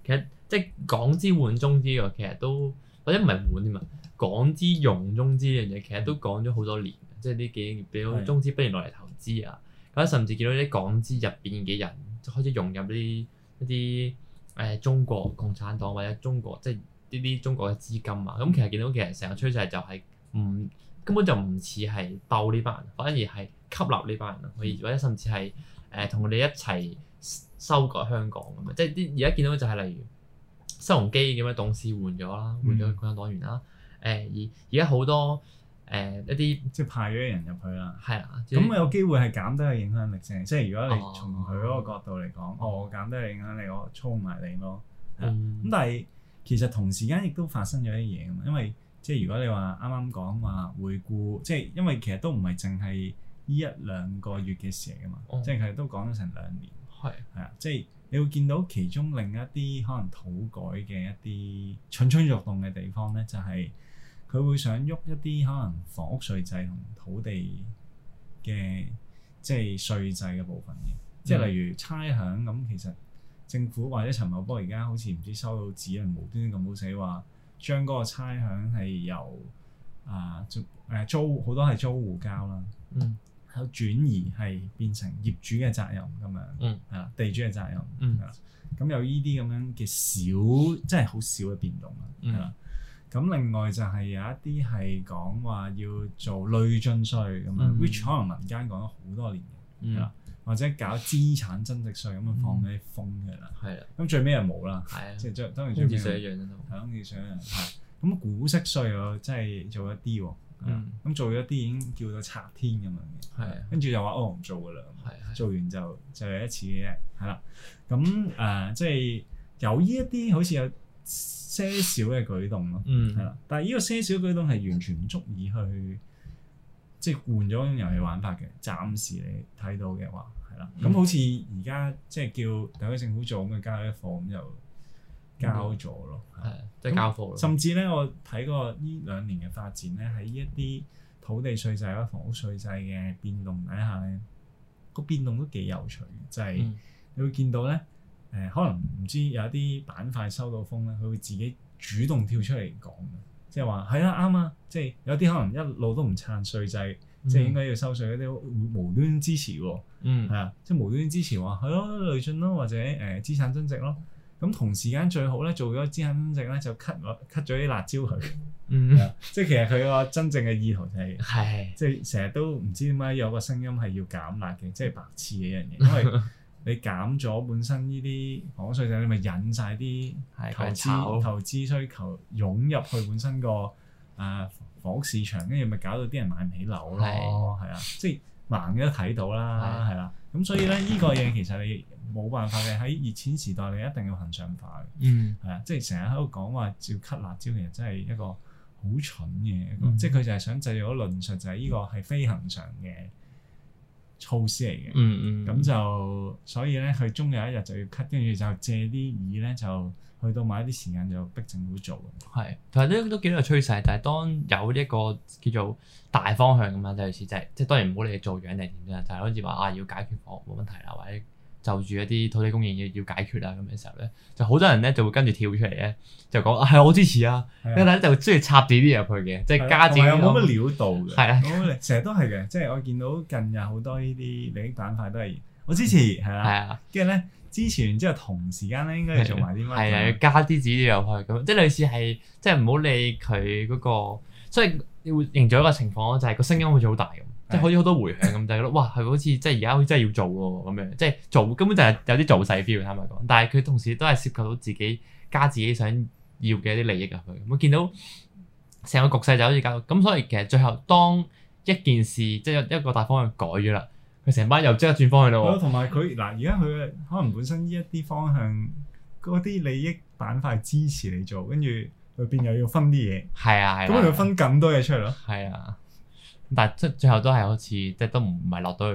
即係港資換中資喎，其實都或者唔係換添啊，港資用中資呢樣嘢其實都講咗好多年，即係呢幾年俾到中資不斷落嚟投資啊，咁甚至見到啲港資入邊嘅人就開始融入一啲中國共產黨或者中國即係呢啲中國嘅資金啊，咁其實見到其實成個趨勢就係根本就唔似係鬥呢班人，反而係吸納呢班人啊，或者甚至係同佢哋一齊修改香港咁樣，即係啲而家見到就係例如新鴻基咁樣董事換咗啦，換咗共產黨員啦，而家好多一啲即係派咗人入去啦， 係啊， 咁有機會係減低個影響力啫。即係如果你從佢嗰個角度嚟講，我減低個影響力，我操埋你咯。咁但係其實同時間亦都發生咗啲嘢㗎嘛，因為即係如果你話啱啱講話回顧，即係因為其實都唔係淨係呢一兩個月嘅事嚟㗎嘛，即係其實都講咗成2年。係啊，即係你會見到其中另一啲可能土改嘅一啲蠢蠢欲動嘅地方咧，就係佢會想喐一啲可能房屋稅制同土地嘅即係稅制嘅部分嘅，即係例如差餉咁，其實政府或者陳茂波而家好似唔知收到指令，無端端咁好死話將嗰個差餉係由租好多係租戶交啦。有轉移係變成業主嘅責任咁樣，係啦，地主嘅責任，係啦，咁有呢啲咁樣嘅小，即係好少嘅變動啦，係啦。咁另外就係有一啲係講話要做累進稅咁樣，which 可能民間講咗好多年嘅，係啦，或者搞資產增值稅咁樣放啲風嘅啦，係啦。咁最尾又冇啦，即係當然最尾係空置稅一樣都係空置稅一樣，係。咁股息稅又真係做一啲喎。咁做咗啲已經叫到拆天咁樣嘅，跟住又話唔做噶啦，做完就有一次嘅啫，係啦。咁即係有呢一啲好似有些少嘅舉動咯，係啦。但係呢個些少舉動係完全唔足以去即係換咗種遊戲玩法嘅。暫時你睇到嘅話係啦。咁好似而家即係叫特區政府做咁嘅交一課咁就交咗咯， 即係交貨咯。 甚至咧，我睇過呢2年嘅發展咧，喺一啲土地稅制或者房屋稅制嘅變動底下咧，個變動都幾有趣嘅，就係你會見到咧，可能唔知有一啲板塊收到風咧，佢會自己主動跳出嚟講嘅，即係話係啊啱啊，即係有啲可能一路都唔撐稅制，即係應該要收稅嗰啲無端支持喎，係啊，即係無端支持話係咯累進咯，或者資產增值咯。咁同時間最好咧，做咗資產增值咧，就 cut 咗啲辣椒佢，即係其實佢個真正嘅意圖就係，即係成日都唔知點解有個聲音係要減辣嘅，即係白痴嘅一樣嘢，因為你減咗本身呢啲房屋稅制，你咪引晒啲投資需求湧入去本身個房屋市場，跟住咪搞到啲人買唔起樓咯，係啊，即係盲嘅都睇到啦，係啦，咁所以咧呢個嘢其實你冇辦法嘅，喺熱錢時代你一定要恆常化嘅，係啊，即係成日喺度講話照 cut 辣椒，其實真係一個好蠢嘅一個，即係佢就係想製造咗論述，就係呢個係非恆常嘅措施嚟嘅，咁就所以咧佢終有一日就要 cut，跟住就借啲意咧就去到某一啲時間就逼政府做。 係，同埋都見到個趨勢，就係當有一個叫做大方向咁樣，就類似即係當然唔好理你做樣定點啫，就係好似話要解決房屋冇問題啦，或者就住一啲土地供應要解決啦咁嘅時候咧，就好多人咧就會跟住跳出嚟咧，就講係我支持啊，跟住就中意插自己啲入去嘅，即係加自己有冇乜料到嘅。 係啊， 成日都係嘅，即係我見到近日好多呢啲利益板塊都係我支持，係啦，跟住咧支持完之後同時間咧應該要做埋啲乜？係啊，要加啲自己入去咁，即係類似係即係唔好理佢嗰個，所以會營造一個情況咯，就係個聲音好似好大咁。即係好似好多迴響咁，就係覺得哇，係好似即係而家好似真係要做喎咁樣，即係做根本就係有啲做勢 feel，坦白講。但係佢同時都係涉及到自己加自己想要嘅一啲利益入去。我見到成個局勢就好似搞到咁，所以其實最後當一件事即係一個大方向改咗啦，佢成班又即刻轉方向咯。 同埋佢嗱，而家佢可能本身呢一啲方向嗰啲利益板塊支持你做，跟住裏邊又要分啲嘢。係啊，咁佢分咁多嘢出嚟咯。 係啊。但係即係最後都係好似即係都唔係落到去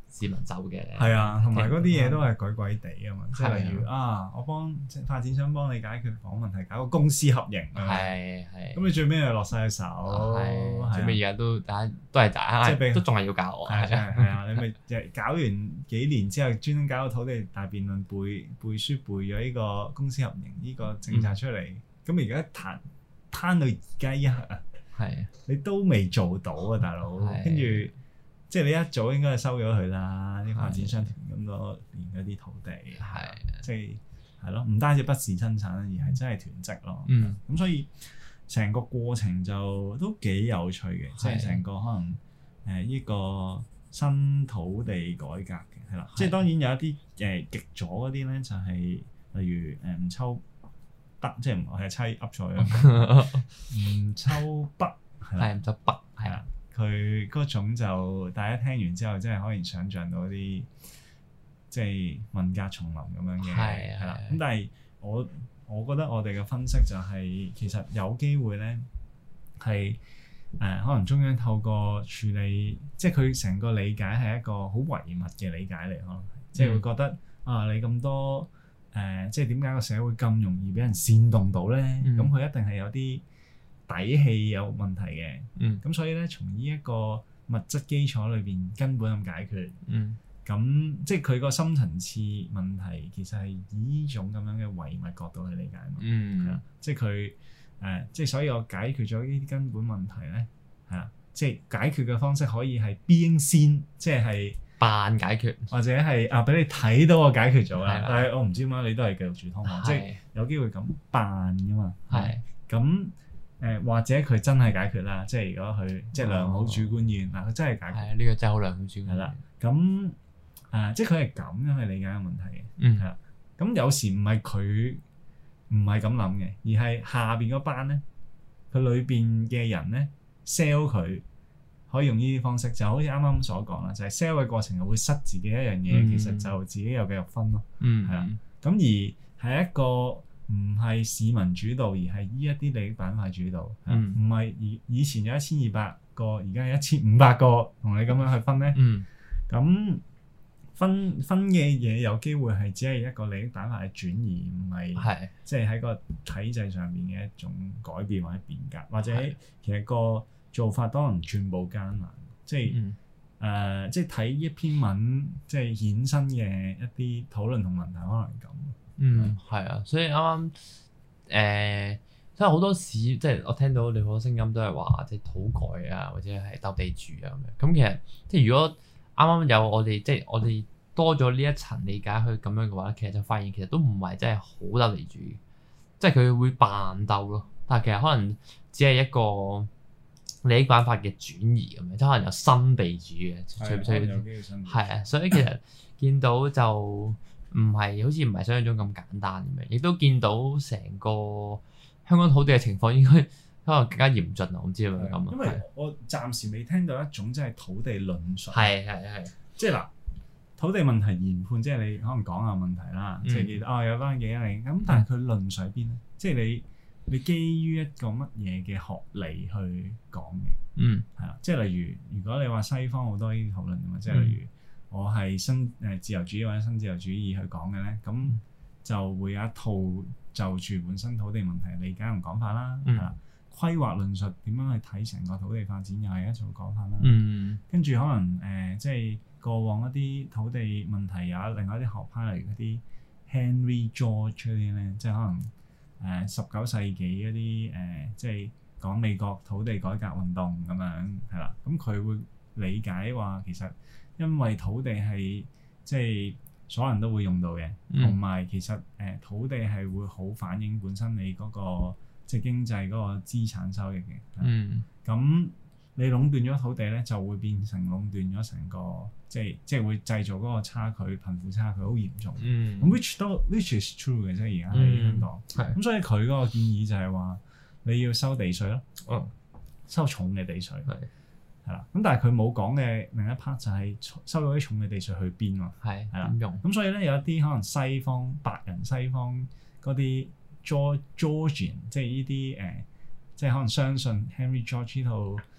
市民走嘅。 係啊，同埋嗰啲嘢都係鬼鬼地啊嘛，即係例如我幫發展商幫你解決房問題，搞個公私合營啊，係，咁你最尾又落晒手， 最尾而家都大家都係即係都仲係要教我， 係啊，你咪搞完幾年之後，專登搞個土地大辯論，背書背咗呢個公私合營呢個政策出嚟，咁而家攤到而家一刻啊，你都未做到啊，大佬，跟住。即係你一早應該係收咗佢啦，啲發展商囤咁多年嗰啲土地，即係咯，唔單止不是生產，而係真係囤積咯。咁所以成個過程就都幾有趣嘅，即係成個可能呢個新土地改革嘅係啦。即係當然有一啲極左嗰啲咧，就係例如唔抽北，即係我係猜噏錯咗，唔抽北係啦， 唔抽北係啦。 佢嗰種就大家聽完之後，真係可以想像到啲即係文革叢林咁樣嘅，係啦。咁但係我覺得我哋嘅分析就係、其實有機會咧係可能中央透過處理，即係佢成個理解係一個好唯物嘅理解嚟，可能即係會覺得你咁多即係點解個社會咁容易俾人煽動到咧？咁佢一定係有啲底氣有問題嘅，咁所以咧，從呢一個物質基礎裏邊根本咁解決，咁即係佢個深層次問題其實係以呢種咁樣嘅唯物角度去理解嘛，係啦，即係佢即係所以我解決咗呢啲根本問題咧，係啦，即係解決嘅方式可以係邊先，即係扮解決， 或者係俾你睇到我解決咗啦，但係我唔知點解你都係繼續住劏房，即係有機會咁扮㗎嘛，係咁。或者佢真係解決啦，即係如果佢即係良好主觀意願嗱，佢真係解決。係呢個真係好良好主觀。係啦，咁即係佢係咁樣去理解個問題嘅。係啦，咁有時唔係佢唔係咁諗嘅，而係下邊嗰班咧，佢裏邊嘅人咧 sell 佢可以用呢啲方式，就好似啱啱所講啦，就係 sell 嘅過程係會失自己一樣嘢，其實就自己又繼續分咯。係啦，咁而係一個。唔係市民主導，而係依一啲利益板塊主導。唔係以前有1200個，而家有1500個，同你咁樣去分咧。咁分嘅嘢有機會係只係一個利益板塊嘅轉移，唔係即係喺個體制上面嘅一種改變或者變革，或者其實個做法當然寸步艱難。即係即係睇一篇文，即係衍生嘅一啲討論同問題，可能係咁。 係啊，所以啱啱即係好多市，即係我聽到你好多聲音都係話，即係土改啊，或者係鬥地主啊咁樣。咁其實即係如果啱啱有我哋，即係我哋多咗呢一層理解去咁樣嘅話，其實就發現其實都唔係真係好鬥地主，即係佢會扮鬥咯。但係其實可能只係一個利益板塊嘅轉移咁樣，即係可能有新地主嘅，係啊，所以其實見到就。好似唔係想像中咁簡單咁樣，亦都見到成個香港土地嘅情況應該可能更加嚴峻啊！我唔知係咪咁啊？ 因為我暫時未聽到一種即係土地論述， 係， 即係嗱，土地問題研判，即係你可能講下問題啦，即係有班幾零咁，但係佢論述喺邊咧？即係你基於一個乜嘢嘅學理去講嘅？係啦，即係例如如果你話西方好多呢啲討論啊嘛，即係例如。我係自由主義或者新自由主義去講嘅咧，咁就會有一套就住本身土地問題理解同講法啦。係啦，規劃論述點樣去睇成個土地發展又係一種講法啦。跟住可能即係過往一啲土地問題有另外一啲學派，例如嗰啲 Henry George 嗰啲咧，即係可能19世紀嗰啲即係講美國土地改革運動咁樣係啦。咁佢會理解話其實。因為土地係即係所有人都會用到嘅，同埋其實土地係會好反映本身你嗰個即係經濟嗰個資產收益嘅。咁你壟斷咗土地咧，就會變成壟斷咗成個即係會製造嗰個差距、貧富差距好嚴重。咁 which is true 嘅啫，而家喺香港。咁所以佢嗰個建議就係話你要收地稅咯，收重嘅地稅。係啦，咁但係佢冇講嘅另一 part 就係收咗啲重嘅地稅去邊喎？係啦，點用？咁所以咧有一啲可能西方白人西方嗰啲 Georgian， 即係呢啲即係可能相信 Henry George 呢套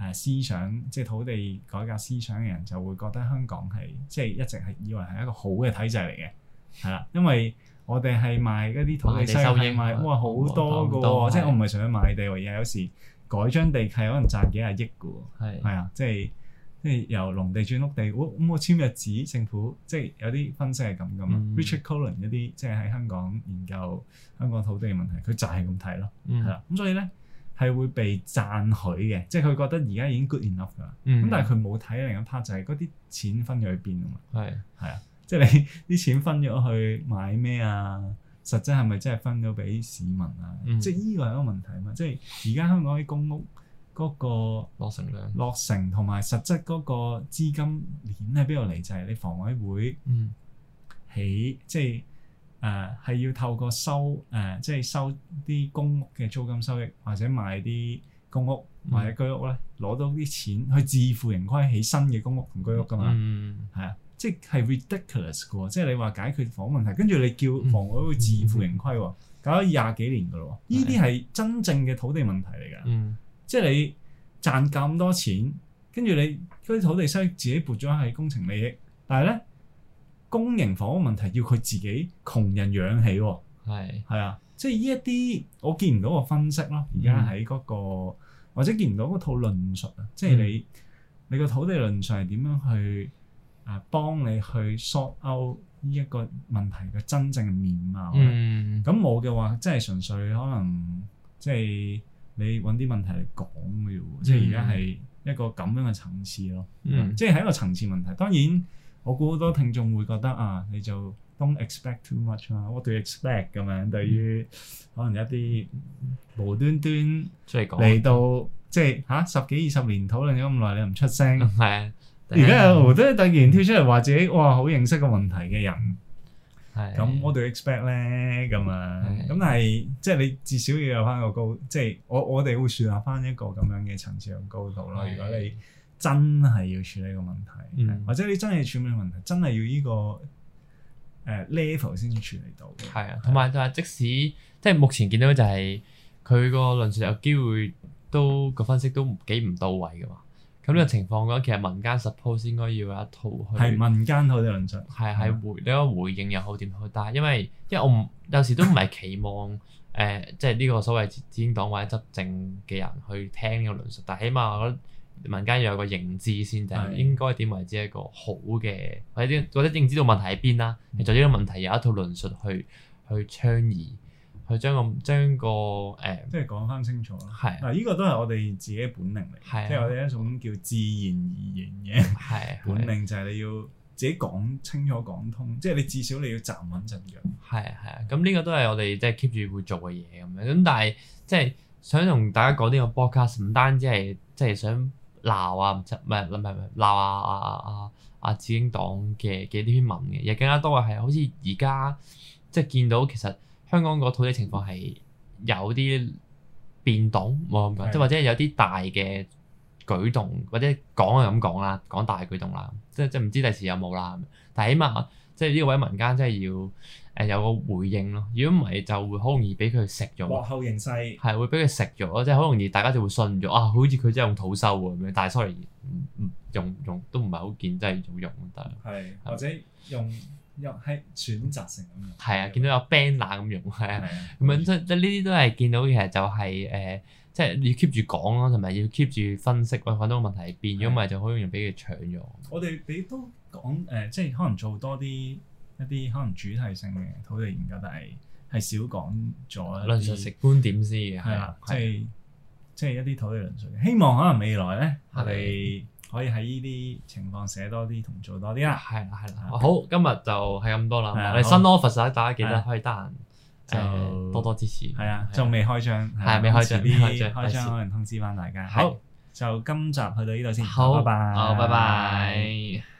思想，即係土地改革思想嘅人就會覺得香港係即係一直係以為係一個好嘅體制嚟嘅，係啦，因為我哋係賣嗰啲土地收益賣哇好多㗎喎，即係我唔係想去買地喎，而係有時改張地契可能賺幾廿億㗎喎，係啊，即係由農地轉屋地，咁我簽日紙政府，即係有啲分析係咁噶嘛。Richard Cullen 一啲即係喺香港研究香港土地嘅問題，佢就係咁睇咯，係啦。咁所以咧係會被讚許嘅，即係佢覺得而家已經 good enough 㗎啦。咁但係佢冇睇另一 part 就係嗰啲錢分咗去邊啊嘛。係啊，即係你啲錢分咗去買咩啊？實質係咪真係分咗俾市民啊？即係呢個係一個問題啊嘛。即係而家香港啲公屋嗰個落成同埋實質嗰個資金鏈喺邊度嚟？就係你房委會起，即係係要透過即係收啲公屋嘅租金收益，或者賣啲公屋或者居屋咧，攞到啲錢去自負盈虧起新嘅公屋同居屋噶嘛。係啊，即係 ridiculous 嘅喎。即係你話解決房屋問題，跟住你叫房委會自負盈虧喎，搞咗20幾年噶咯喎。呢啲係真正嘅土地問題嚟㗎。即係你賺咁多錢，跟住你嗰啲土地收益自己撥咗係工程利益，但係咧公營房屋問題要佢自己窮人養起喎。係啊，即係呢一啲我見唔到個分析咯。而家喺嗰個或者見唔到嗰套論述啊，即係你個土地論述係點樣去幫你去 sort out 呢一個問題嘅真正嘅面貌咧？咁我嘅話，即係純粹可能即係。你揾啲問題嚟講嘅喎，即係而家係一個咁樣嘅層次咯，即係一個層次問題。當然，我估好多聽眾會覺得你就 don't expect too much 啦。What do you expect 咁樣？對於可能一啲無端端嚟到，即係10幾20年討論咗咁耐，你又唔出聲，係而家又無端端突然跳出嚟話自己哇好認識個問題嘅人。咁我哋 expect 咧咁啊，咁但係即係你至少要有翻個高，即係我哋會樹立翻一個咁樣嘅層次同高度咯。如果你真係要處理個問題，或者你真係處理個問題，真係要呢個level 先至處理到。係啊， 同埋就係即使即係目前見到就係佢個論述有機會都個分析都幾唔到位㗎嘛。咁呢個情況嘅話，其實民間 suppose 應該要有一套去係民間土地論述， 你個回應又好點好，但係因為我有時都唔係期望即係呢個所謂自英黨或者執政嘅人去聽呢個論述，但係起碼我覺得民間要有個認知先，就係應該點為之一個好嘅，或者認知到問題喺邊啦，就呢個問題有一套論述去倡議。去將個即係講翻清楚咯。嗱，呢個都係我哋自己本能嚟，即係我哋一種叫自然而然嘅本能，就係你要自己講清楚講通，即係你至少你要站穩陣腳。係啊，咁呢個都係我哋即係 keep 住會做嘅嘢咁樣。咁但係即係想同大家講呢個 podcast，唔單止係即係想鬧唔係鬧阿自英黨嘅呢篇文嘅，亦更加多嘅係好似而家即係見到其實。香港個土地情況係有啲變動，冇咁講，即係或者有啲大嘅舉動，或者講係咁講啦，講大舉動啦，即係唔知第時有冇啦。但係起碼即係呢個位民間真係要有個回應咯。如果唔係就會好容易俾佢食咗。落後形勢係會俾佢食咗，即係好容易大家就會信咗好似佢真係用土收喎咁樣。但係 sorry，用都唔係好見真係用得。係或者用。又係選擇性咁用，係啊，見到有 banner 咁用，係啊，咁樣即係呢啲都係見到其實就係即係要 keep 住講咯，同埋要 keep 住分析，揾到個問題係邊，如果唔係就好容易俾佢搶咗。我哋都講即係可能做多一啲可能主題性嘅土地研究，但係少講咗論述性觀點先嘅，係啦，即係一啲土地論述。希望可能未來咧，我哋可以喺呢啲情況寫多啲同做多啲啦。係啦。好，今日就係咁多啦。我哋新 office 大家記得可以得閒就多多支持。係啊，仲未開張，係未開張，開張可能通知翻大家。好，就今集去到呢度先。好，拜拜。